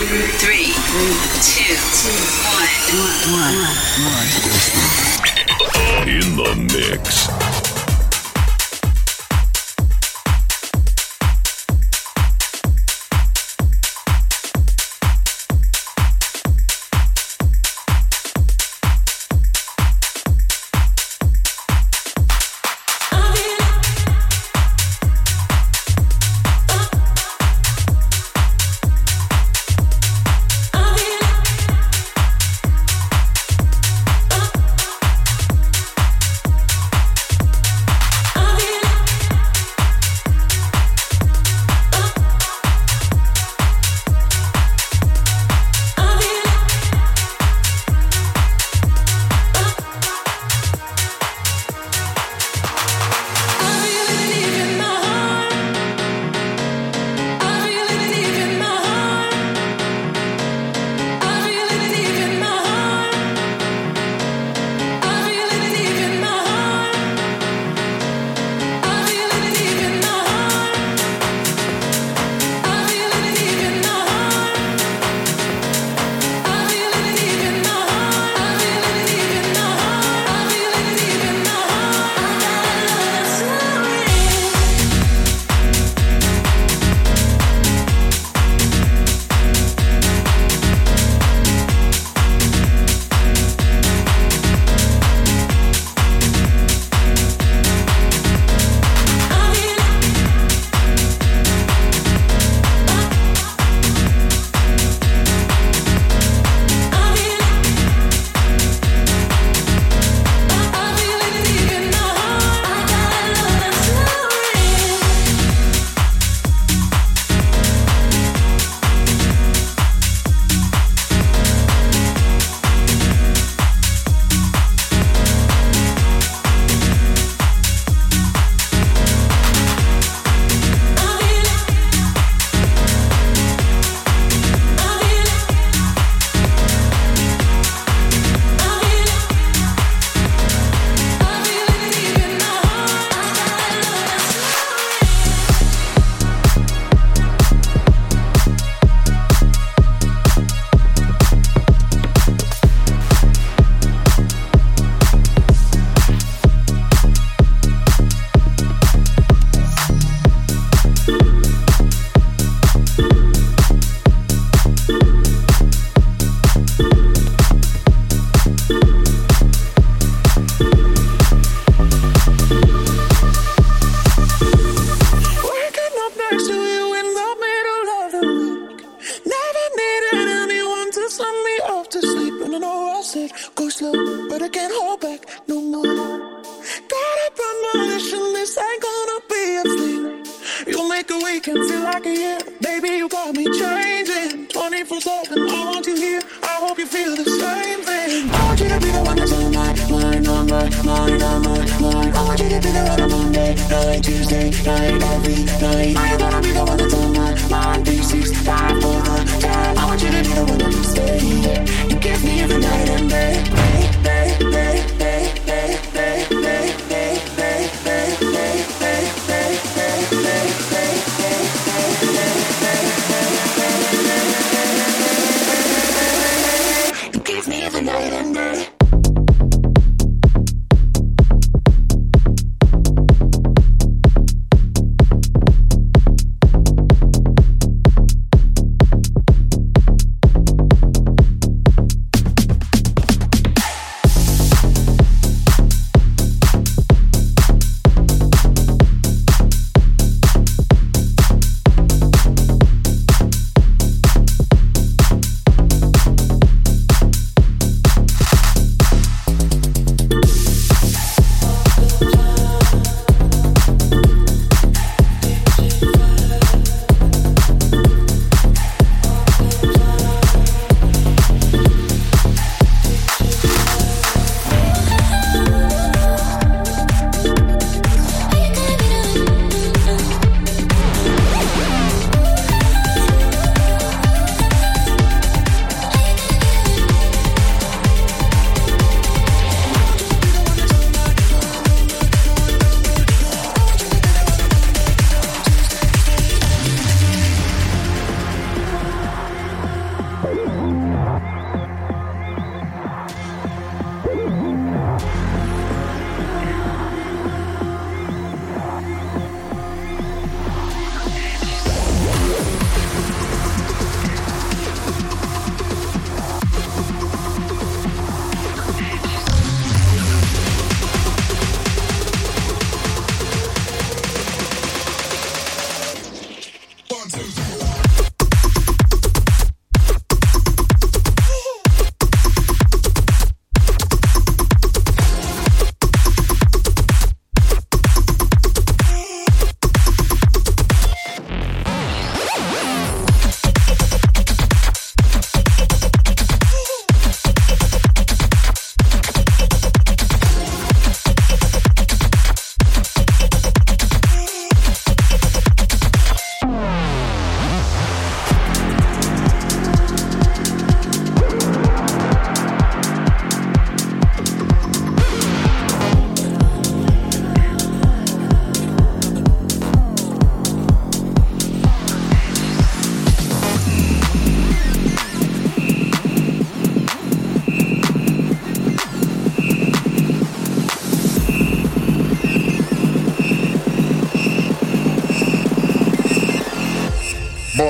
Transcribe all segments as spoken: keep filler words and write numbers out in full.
Three, two, one, one. In the mix.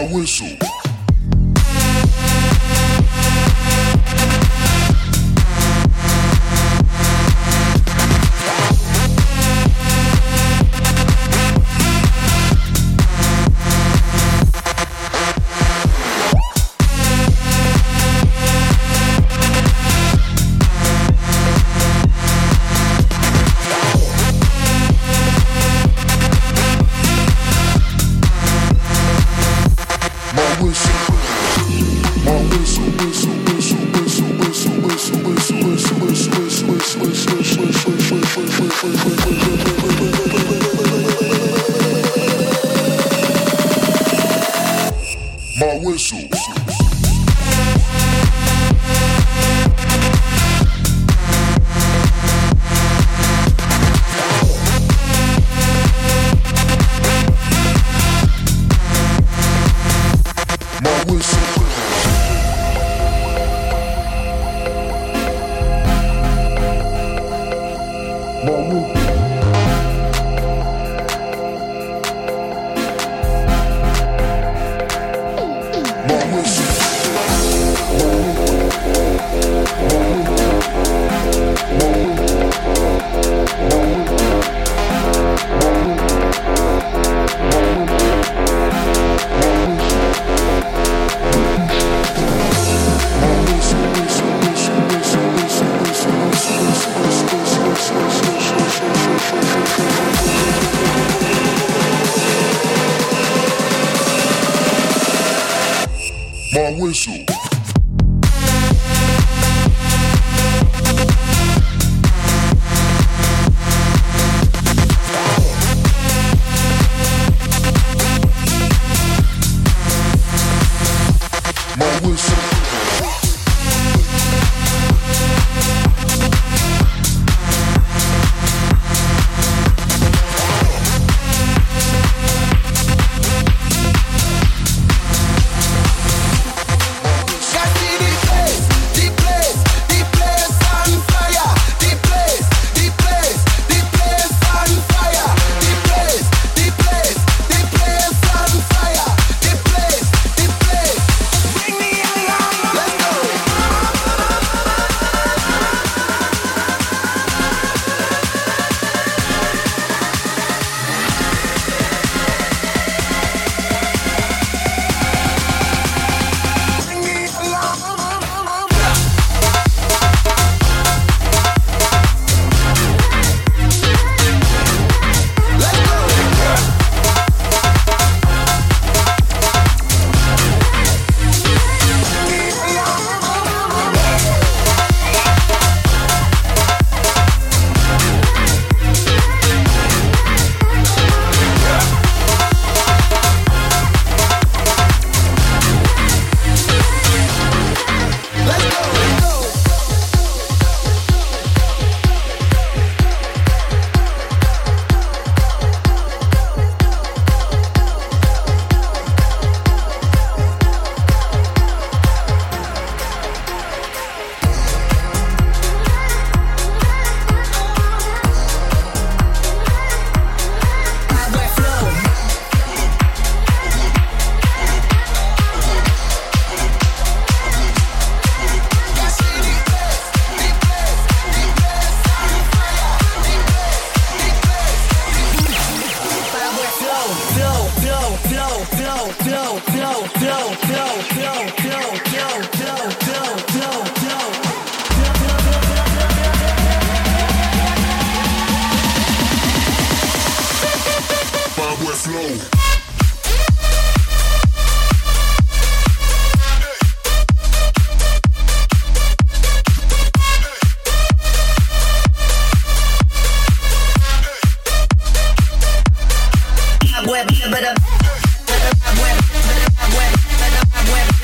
my whistle. My whistle. My whistle. Web, but a web, web, web, web, web, web,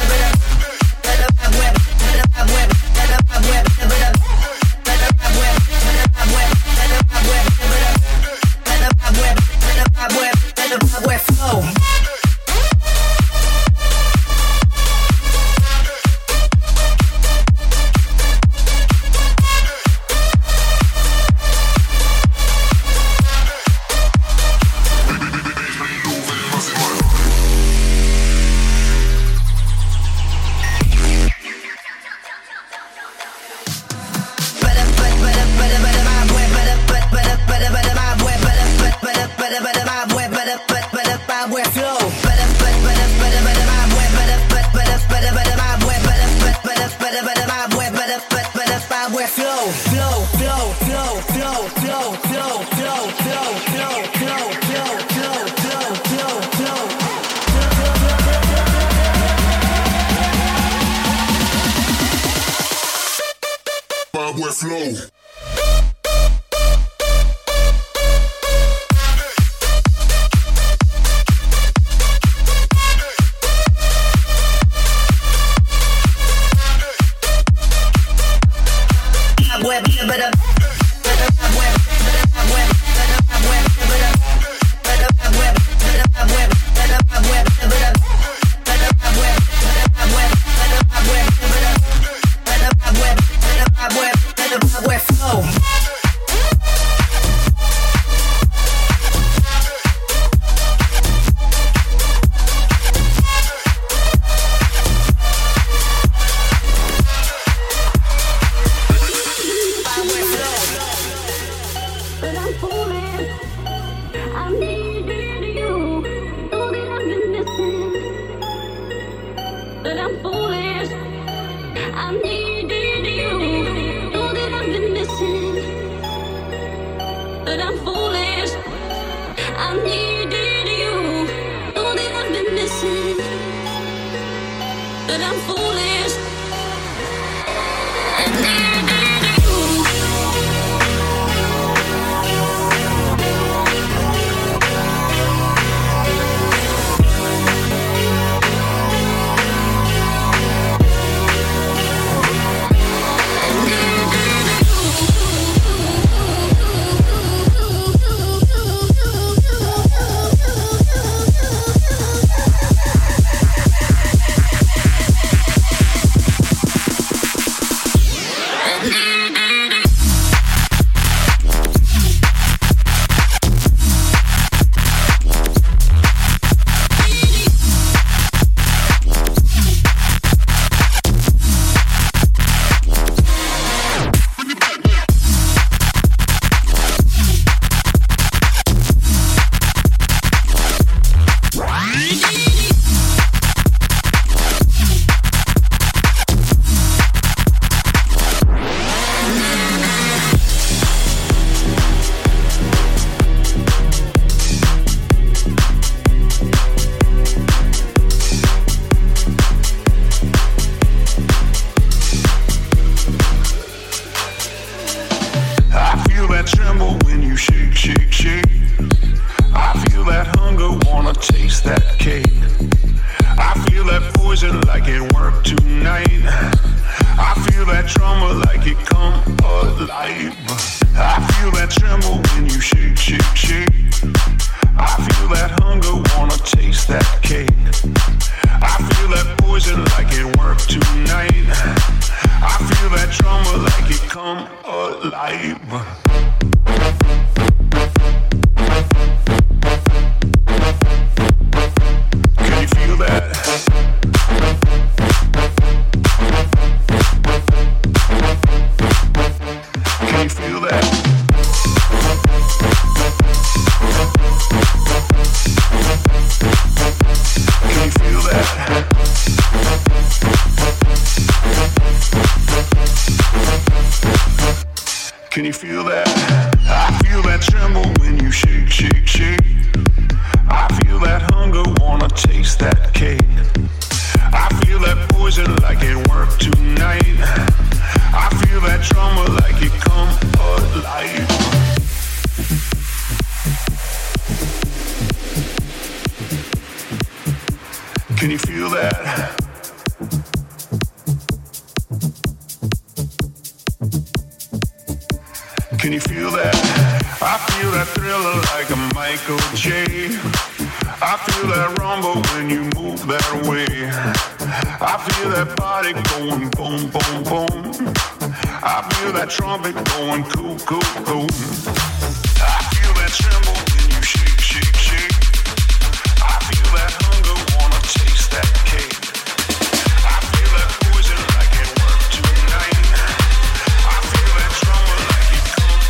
boy Flow. Can you feel that? I feel that tremble when you shake, shake, shake. I feel that hunger, wanna taste that cake. I feel that poison like it worked tonight. I feel that trauma like it come alive. Can you feel that? Can you feel that? I feel that thriller like a Michael J. I feel that rumble when you move that way. I feel that body going boom, boom, boom. I feel that trumpet going cool, cool, cool. I feel that tremble when you shake, shake, shake. I feel that hunger, wanna taste that cake. I feel that poison like it worked tonight. I feel that trauma like it comes.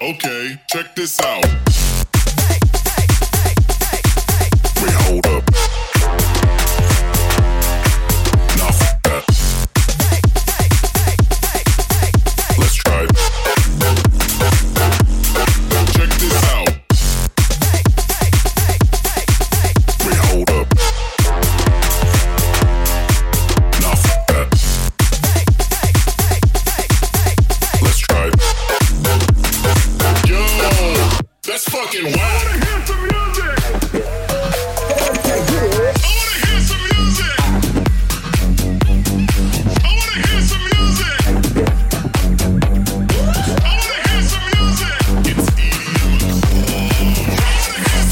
Okay, check this out. Wait, hold up. Nah, f that. Let's try it. Check this out. Wait, hold up. Nah, f that. Let's try it. Yo, that's fucking wild. I wanna hear some music. I wanna hear some music. I wanna hear some music. I wanna hear some music. It's E D M. I wanna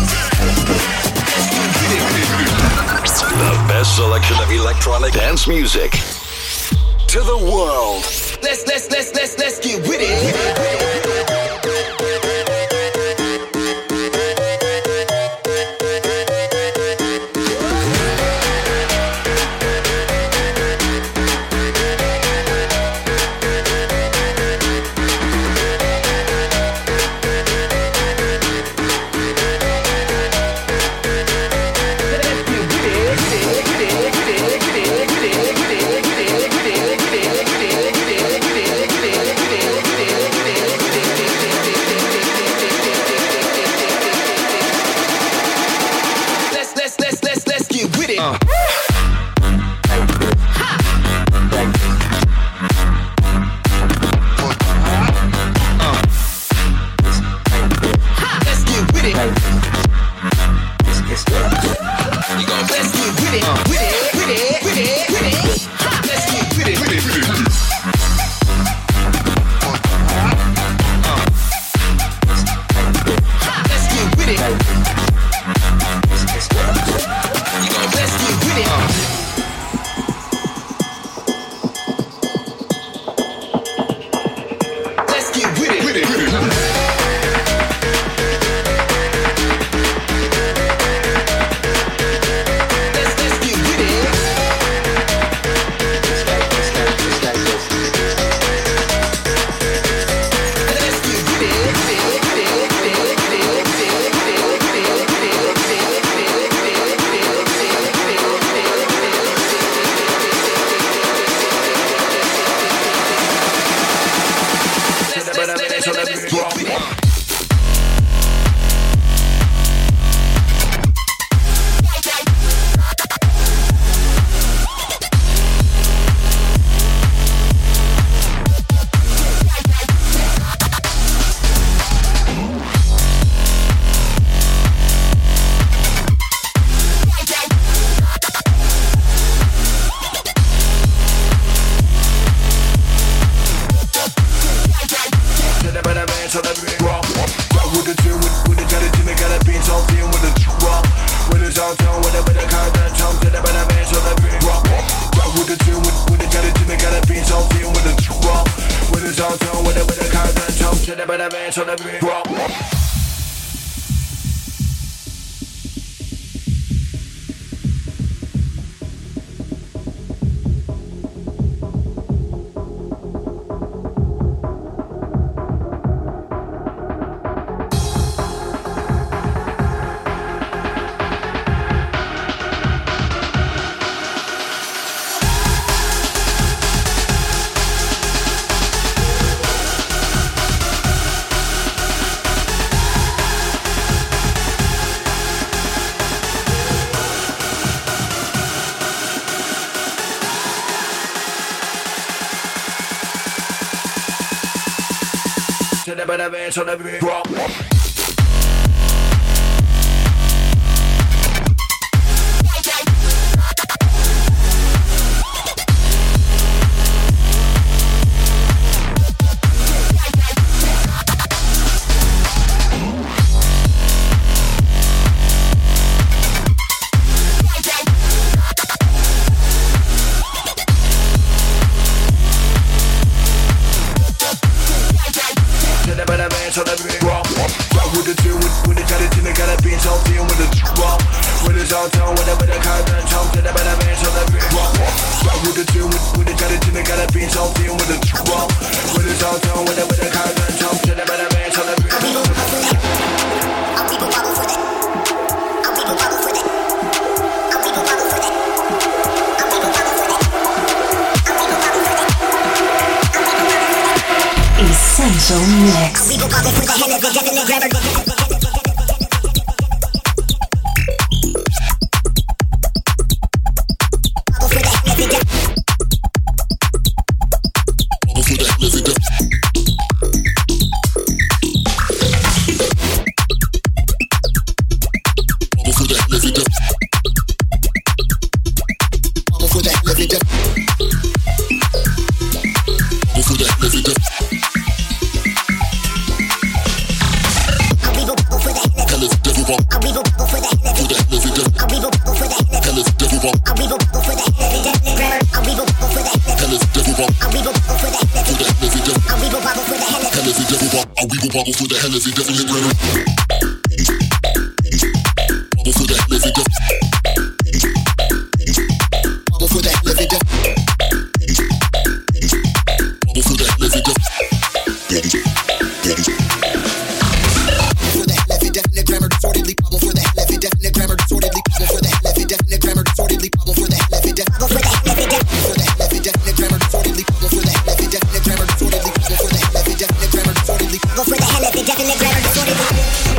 hear some music. The best selection of electronic dance music to the world. Let's let's let's let's let's get with it. So let me drop. So let me rock, rock with the two, with the got it, and got a beat, so feel with the drop. With his all tone, whatever the car done, talk to the better man, so let me rock, rock with the two, with the got it, and got a beat, so feel with the drop. With his all tone, whatever the car done, talk to the better man. Essential Mix. We go bubble for the hell of it, definitely grab her. Bubble for the hell of it, definitely grab her. Bubble for the hell of it, bubble for the hell of it, bubble for the hell of it, for the hell of it, definite grammar disorderly. Bubble for the hell of it, definite grammar disorderly. Bubble for the hell of it, definite grammar disorderly. Bubble for the hell of it, bubble for the hell of it, for the hell of it, definite grammar disorderly. Bubble for the hell of it, definite grammar disorderly. Bubble for the hell of it, definite grammar disorderly. Bubble for the hell of it, definite grammar disorderly.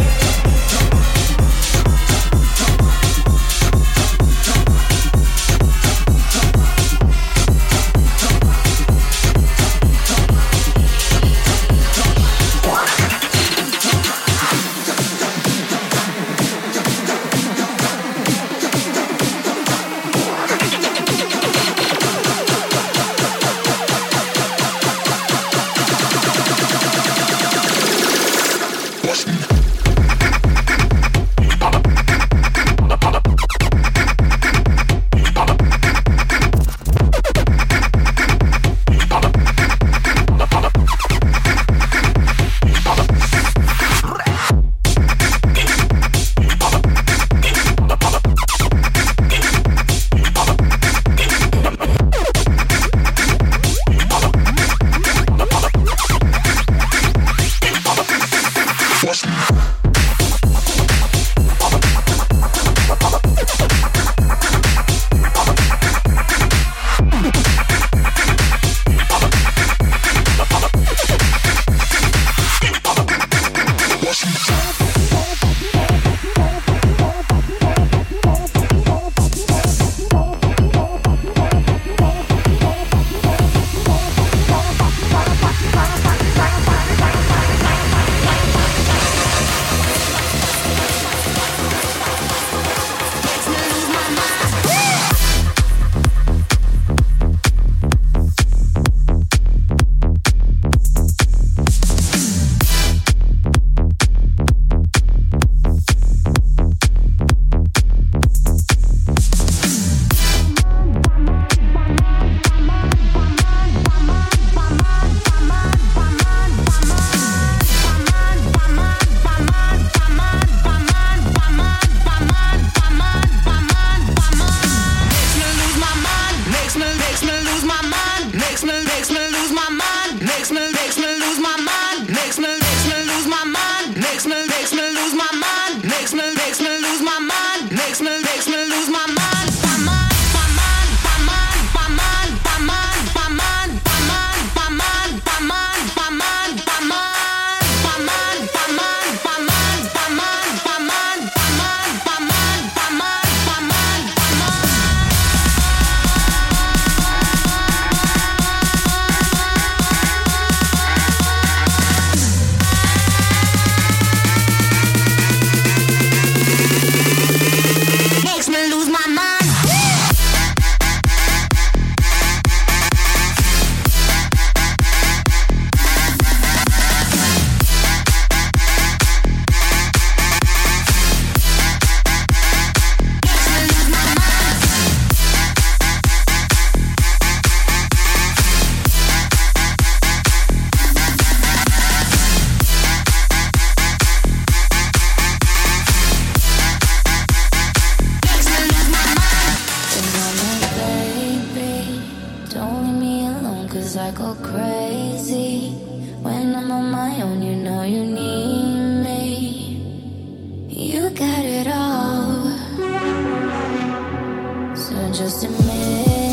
Just admit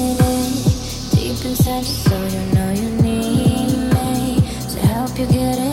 it, deep inside you, so you know you need me to help you get it.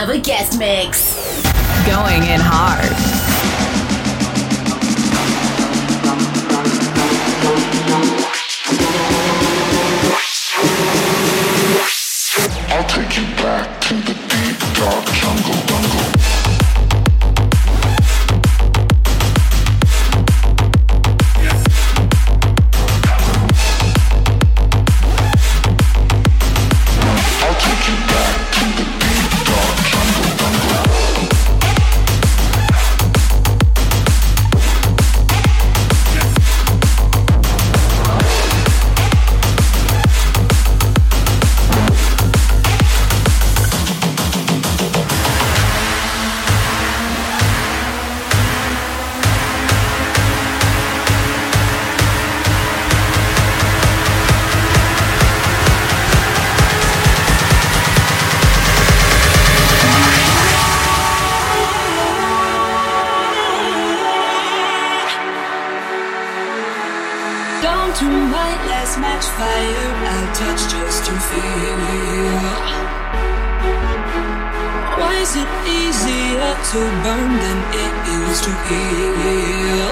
of a guest mix. Going in hard. I'll take you back to the deep, dark jungle, jungle. I'll take you back to the deep, dark jungle, jungle. Match fire, I'll touch just to feel. Why is it easier to burn than it is to heal?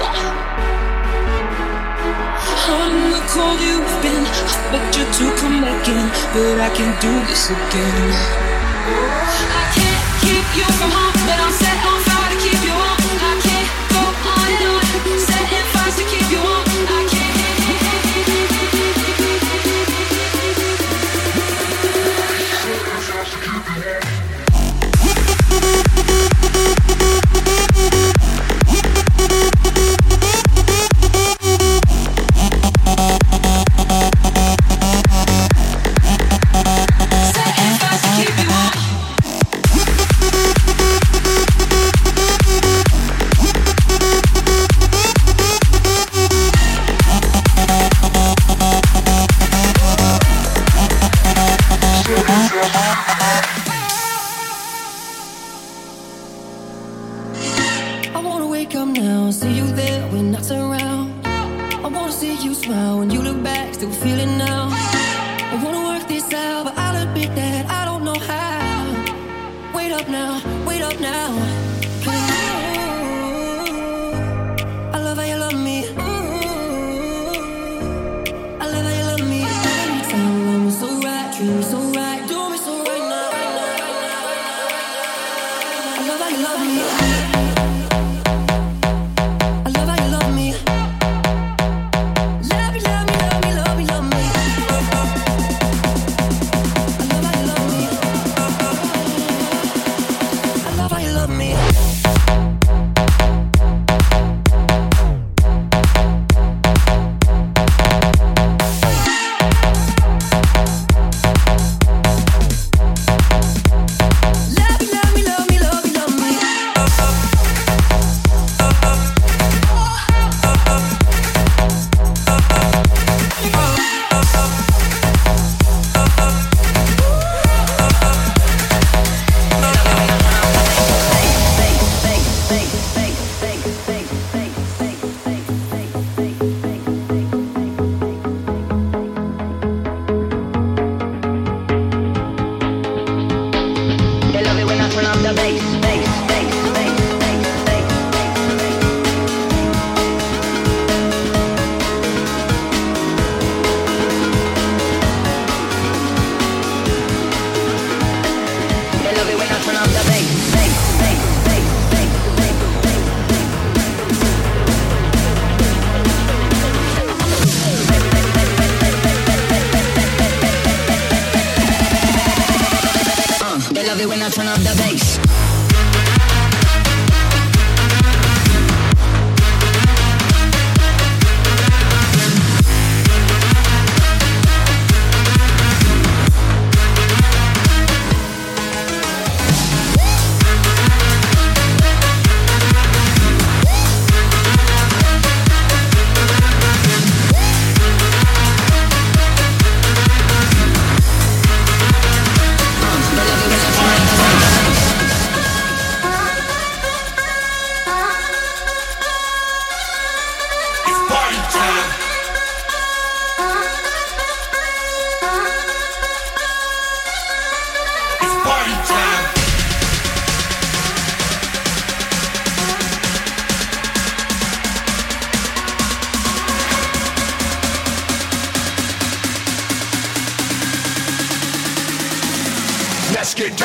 On the cold you've been, I begged you to come back in, but I can't do this again. I can't keep you from home, but I'm set on fire to keep you on. I can't go on and on, setting fires to keep you on. I can't.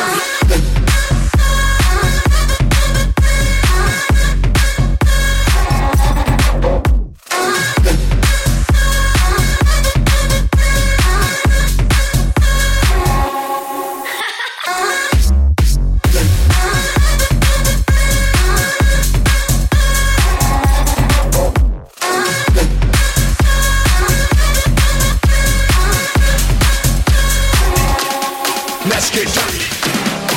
Let's get dirty.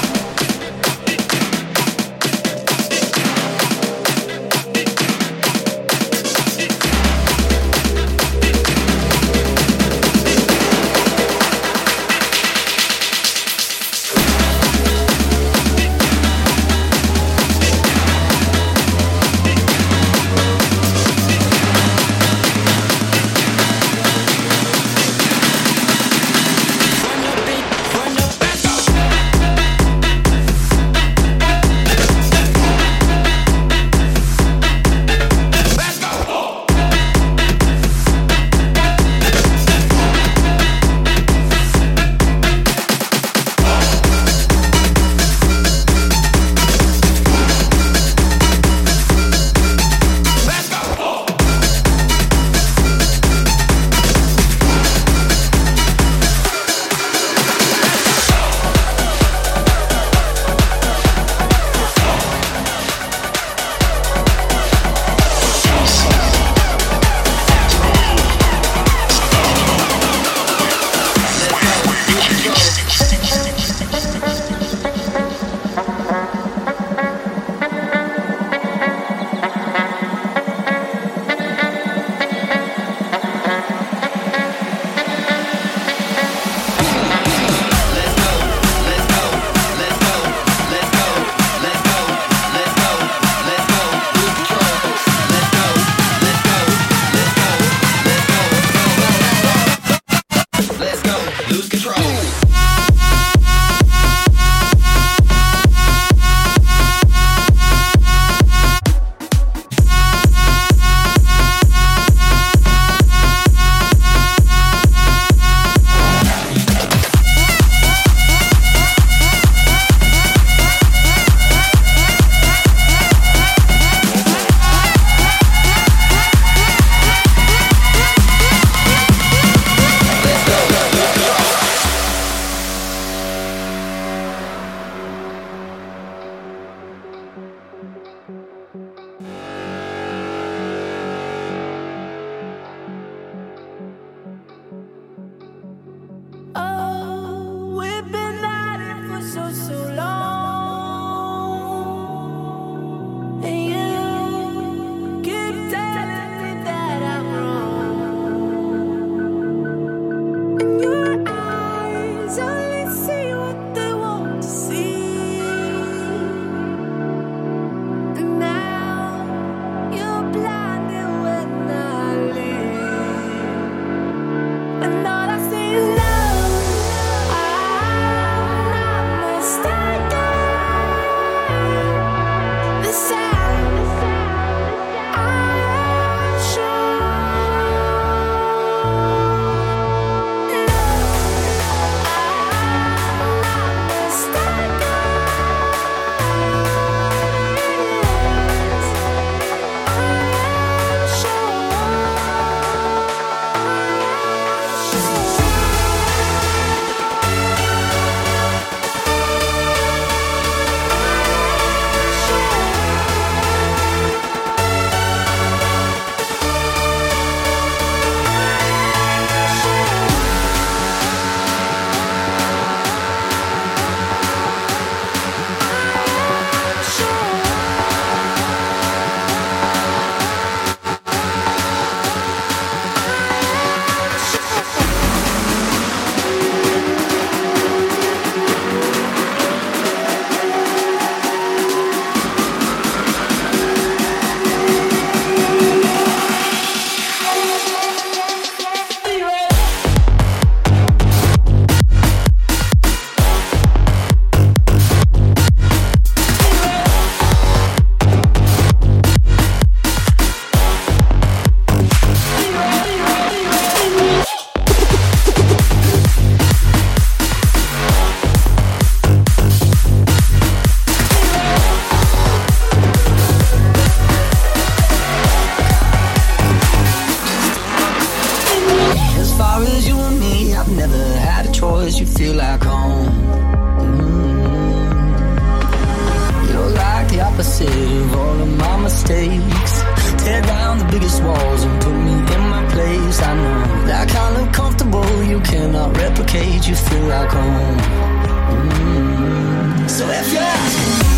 opposite of all of my mistakes. Tear down the biggest walls and put me in my place. I know that kind of comfortable you cannot replicate. You feel like home. Mm-hmm. So if you're asking me,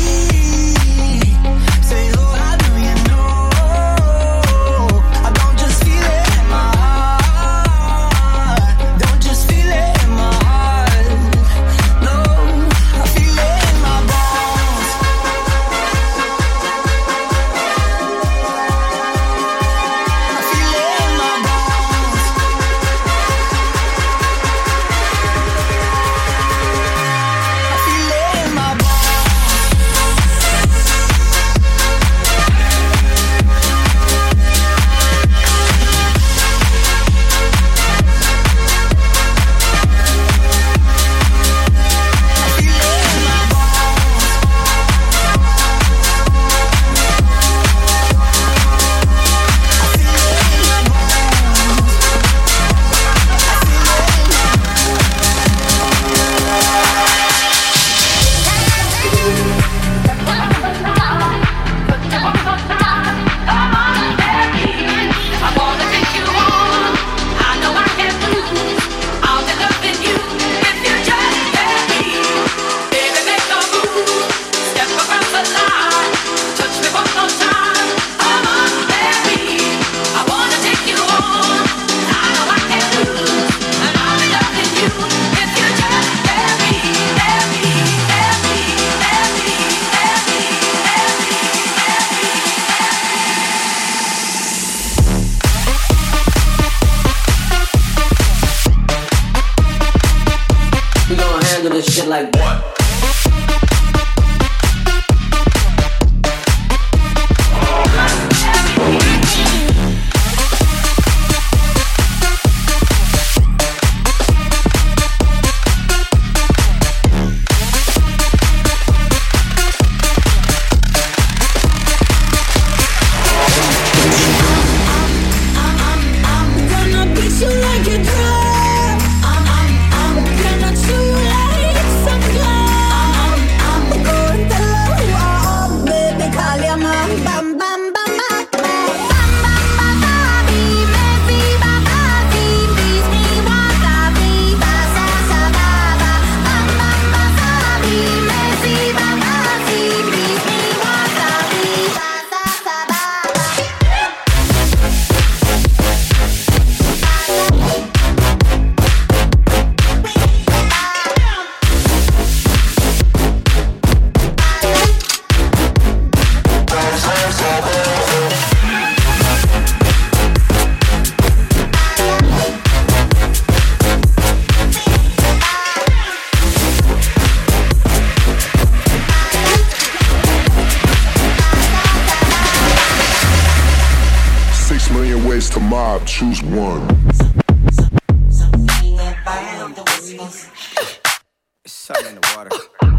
say, oh, how do you know? I don't just feel it in my heart. Don't just feel it in my heart. No, I feel it in my bones. I feel it in my bones. I feel it in my bones. We gon' handle this shit like what? To mob, choose one. It's something in the water.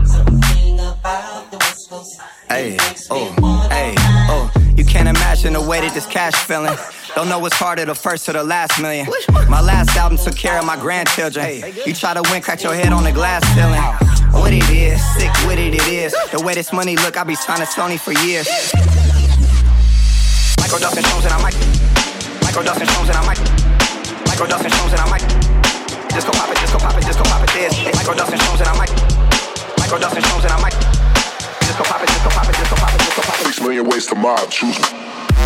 Hey, oh, hey, oh. You can't imagine the way that this cash feeling. Don't know what's harder, the first or the last million. My last album took care of my grandchildren. You try to win, crack your head on the glass ceiling. What it is, sick with it, it is. The way this money look, I be signing Sony for years. Micro Dustin Jones and I might. Micro Dustin Jones and I might. Micro Dustin Jones and I might. Disco pop it, disco pop it, disco pop it, this. Micro Dustin Jones and I might. Micro Dustin Jones and I might. Disco pop it, disco pop it, disco pop it, disco pop it. Six million ways to mob, choose one.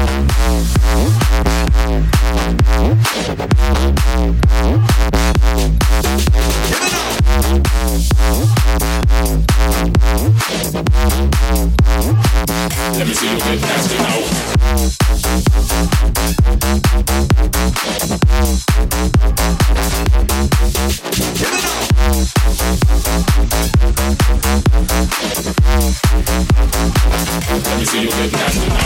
Let me see you get nasty now. Let me see you get nasty now.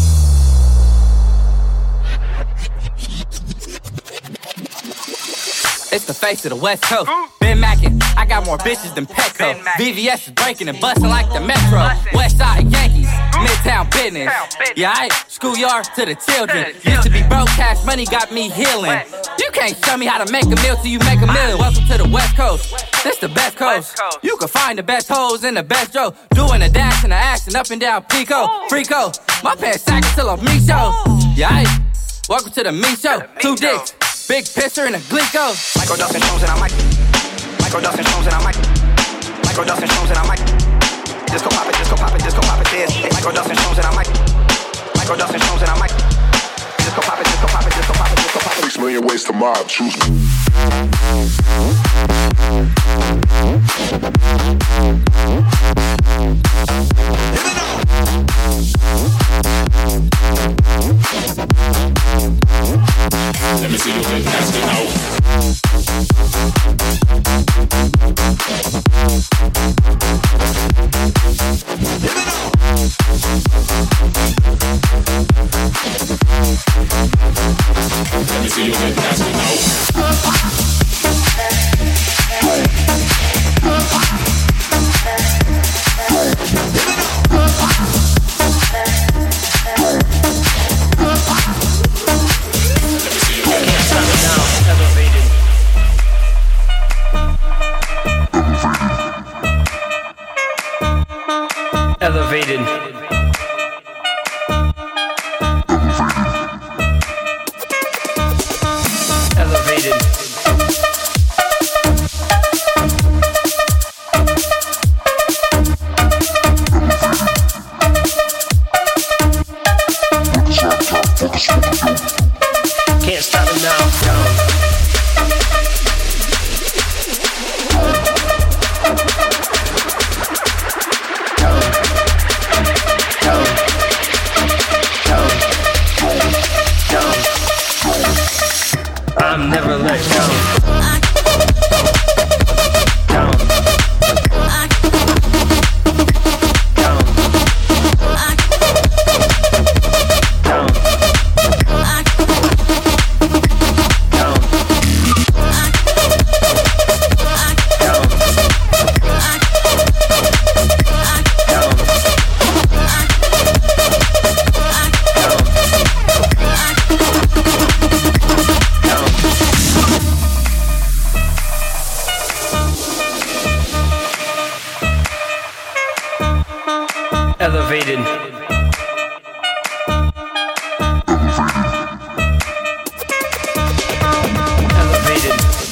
It's the face of the West Coast. Been mackin', I got more bitches than Petco. V V S is breaking and bustin' like the Metro. West Side Yankees, Midtown business. Yeah, I schoolyard to the children. Used to be broke, cash money got me healing. You can't show me how to make a meal till you make a million. Welcome to the West Coast. This the best coast. You can find the best hoes and the best Joe. Doing the dash and the ass dancing up and down Pico, Frico. My pants sagging till I'm me show. Yeah, I welcome to the me show. Two dicks, big pisser and a glico. Michael Dustin Jones and I might. Michael Dustin Jones and I might. Michael Dustin Jones and I might. Disco pop it, disco pop it, disco pop it, this. Michael Dustin Jones and I might. Michael Dustin Jones and I might. Disco pop it, disco pop it, disco pop it, disco pop it. Six million ways to mob, choose me. Let me see you get nasty now. Let me see you get nasty now. Elevated. Elevated. Can't stop it now. I'm never let go. Down. Down. Down. Down. Elevated. Elevated.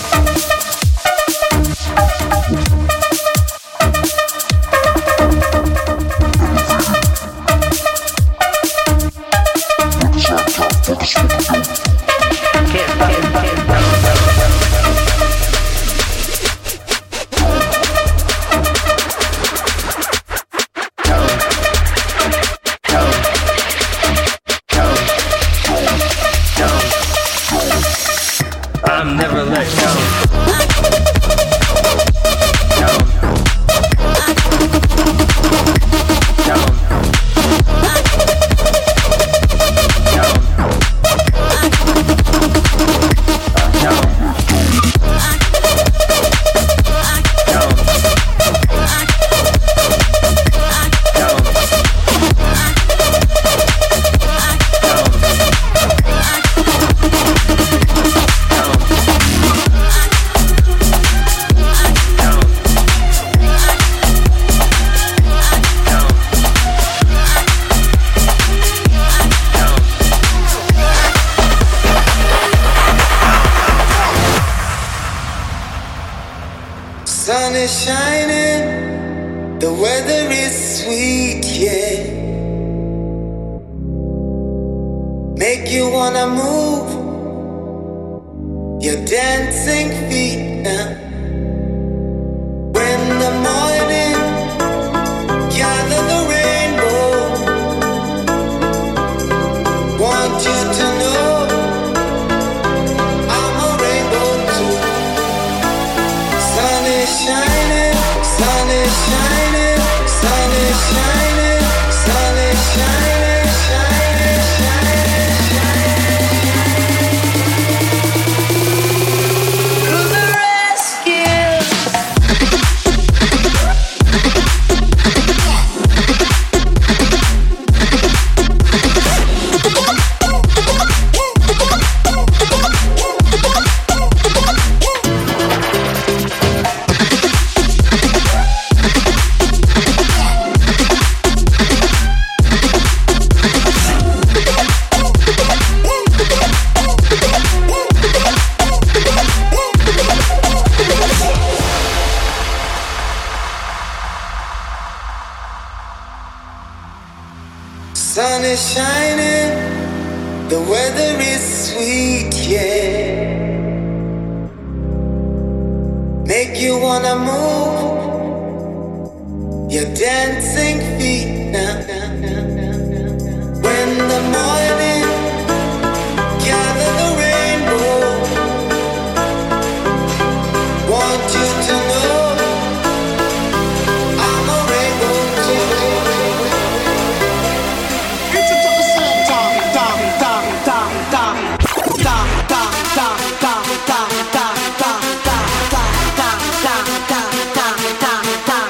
Can't stop it, can't stop it. I'm never let go. Down. Down. Down. Down. Sun is shining, the weather is sweet, yeah. Make you wanna move your dancing feet now. When the morning gather the rainbow, want you to know I'm a rainbow too. Sun is shining, sun is shining, sun is shining, sun is shining, shining, shining, shining. Through the rest Sun is shining, the weather is sweet, yeah. Make you wanna move your dancing feet now. When the morning gather the rainbow, want you to know I'm a rainbow too. It's a top of sand, dum, dum, dum, dum, dum, dum, dum, dum, dum, dum, dum, dum, dum, dum, dum, dum, dum, dum, dum,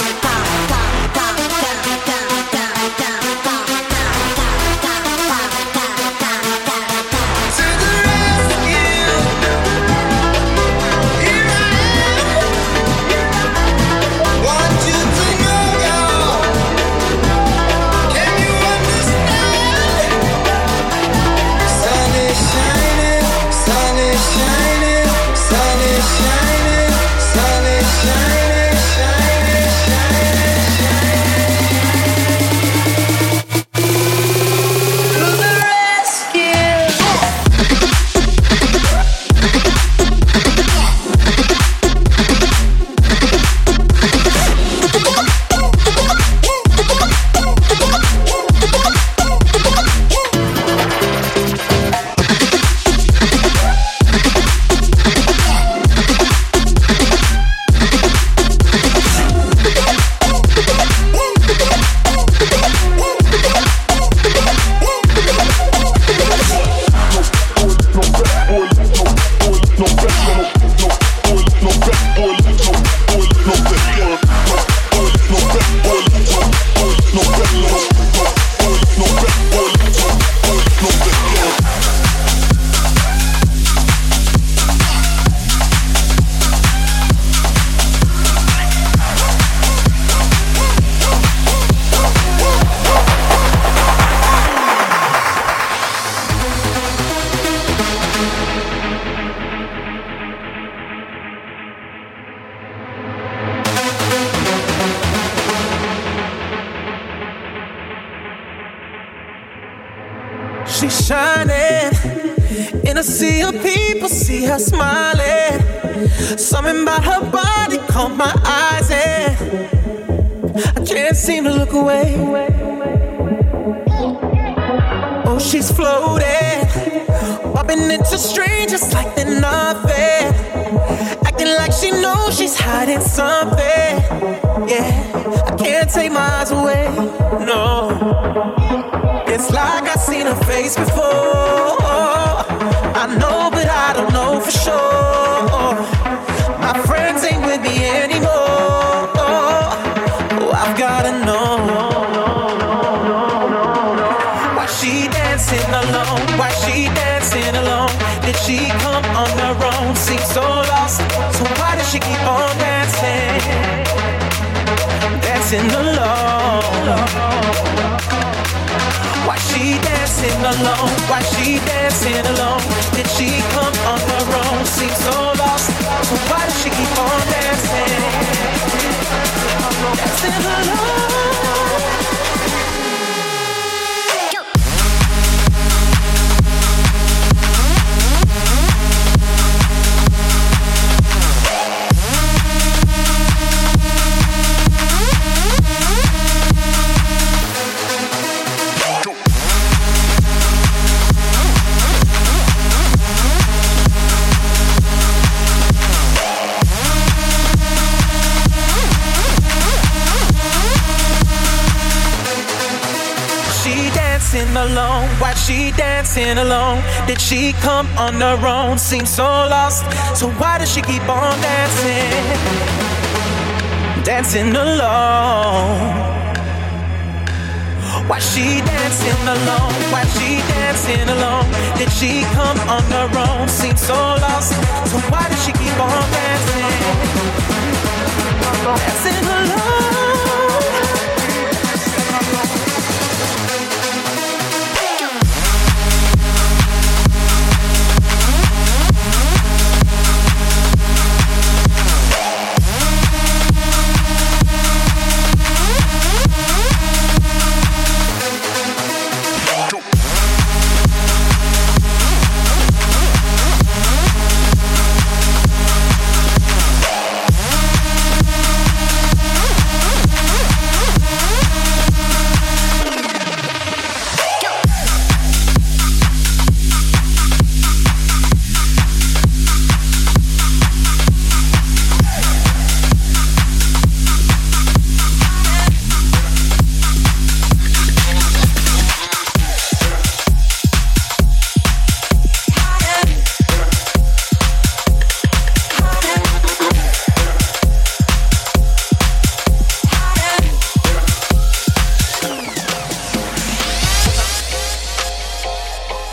She's shining in a sea of people, see her smiling. Something about her body caught my eyes and I can't seem to look away. Oh, she's floating, bumping into strangers like they're nothing, acting like she knows she's hiding something. Yeah, I can't take my eyes away, no. It's like I've seen her face before. I know, but I don't know for sure. My friends ain't with me anymore. Oh, I've gotta know. Why she dancing alone? Why she dancing alone? Did she come on her own? Seems so lost. So why does she keep on dancing? Dancing alone. Why she dancing alone? Why she dancing alone? Did she come on her own? Seems so lost. So why does she keep on dancing? Dancing alone. Alone, why she dancing alone? Did she come on her own? Seems so lost. So why does she keep on dancing? Dancing alone. Why she dancing alone? Why she dancing alone? Did she come on her own? Seems so lost. So why does she keep on dancing? Dancing alone.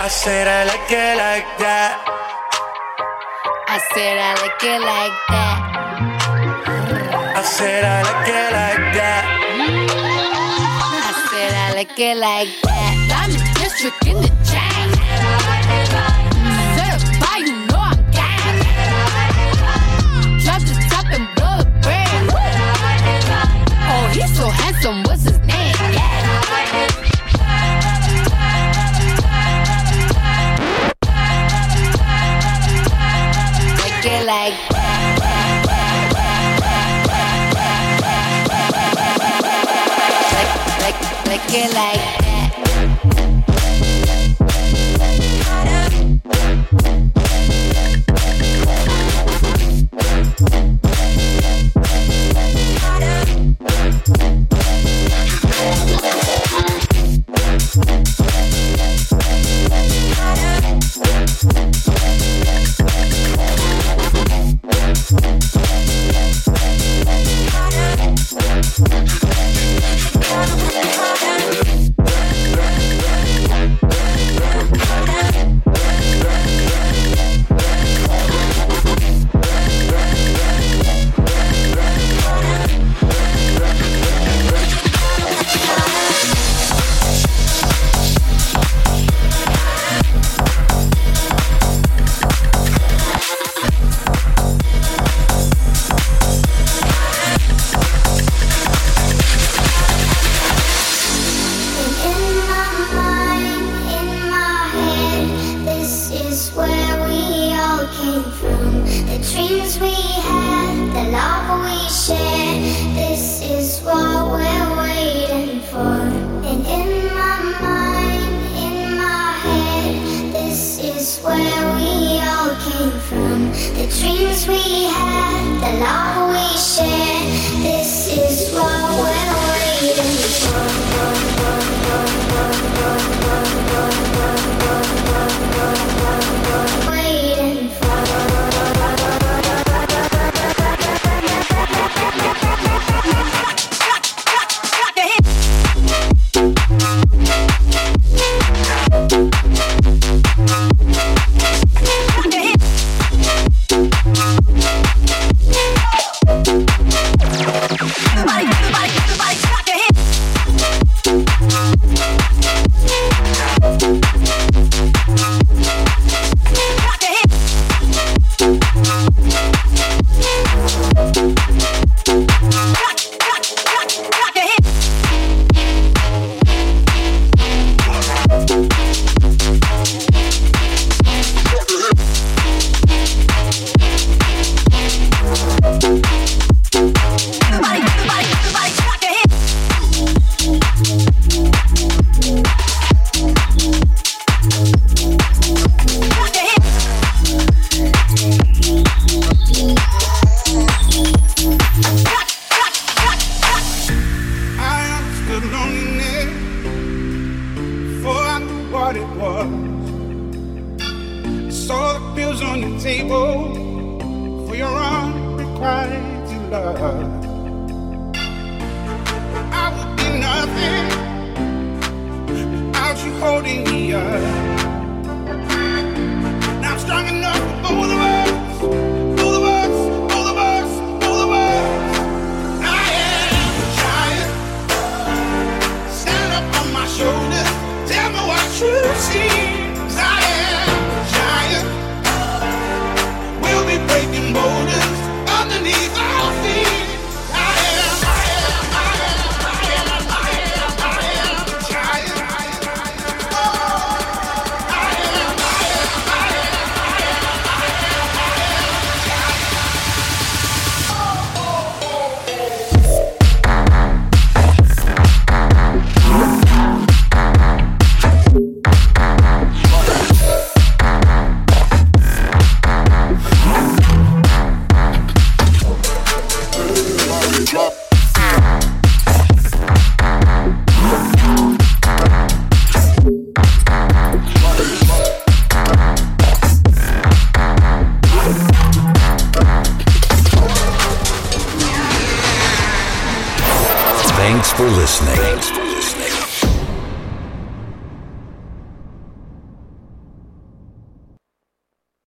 I said I like it like that. I said I like it like that. I said I like it like that. I said I like it like that. I'm the district in the chain. Certified, you know I'm gang. Drop the top and blow the brand. Oh, he's so handsome, what's his name? Yeah. Like it like that. Like, like, like it like that. Thanks for listening. Thanks for